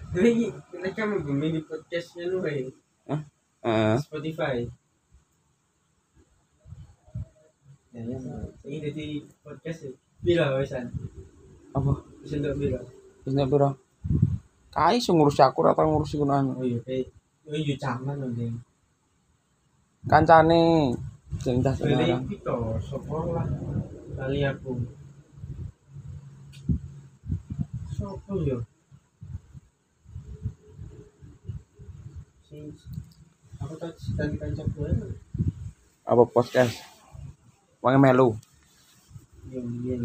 Ini mereka membeli podcastnya lu kayak Spotify. Ya, ini jadi podcast ya. Bila wesan. Apa? Bisa untuk bila. Bisa piro? Kai sing ngurus aku atau ngurus iku nang. Oh iya kayak zaman nanti. Kancane sing tas Beli sekarang. itu sopor lah. Kali aku. Sopo yo. Aku tadi kancap gue. Apa podcast? Wong melu. Yang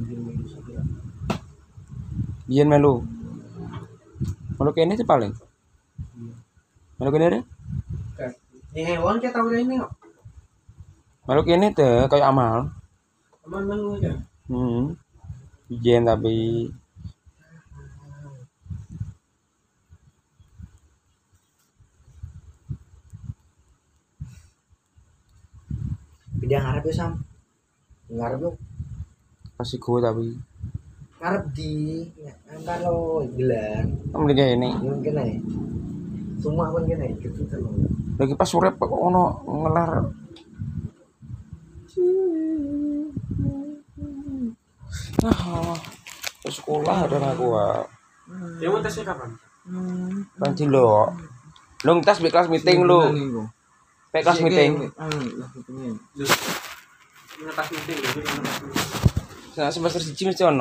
Biyen melu. Melu kene sih paling. Melu kene deh. hewan kita tahu ini kok. Melu kene teh kayak amal. Aman melu aja. Biyen tapi Bidang ngarep ya Sam. Ngarep lu. pasti gue tapi. Ngarep di kalau gelar. Mending kayak ini. Mungkin aja. Semua pun kena gitu terus. Lagi pas sore kok ono ngelar. Ke sekolah ada aku. Dia mau tesnya kapan? Nanti lo. Lo tes di kelas meeting lo. Kelas meeting. Ngetas meeting. Semester 1 mesti ono.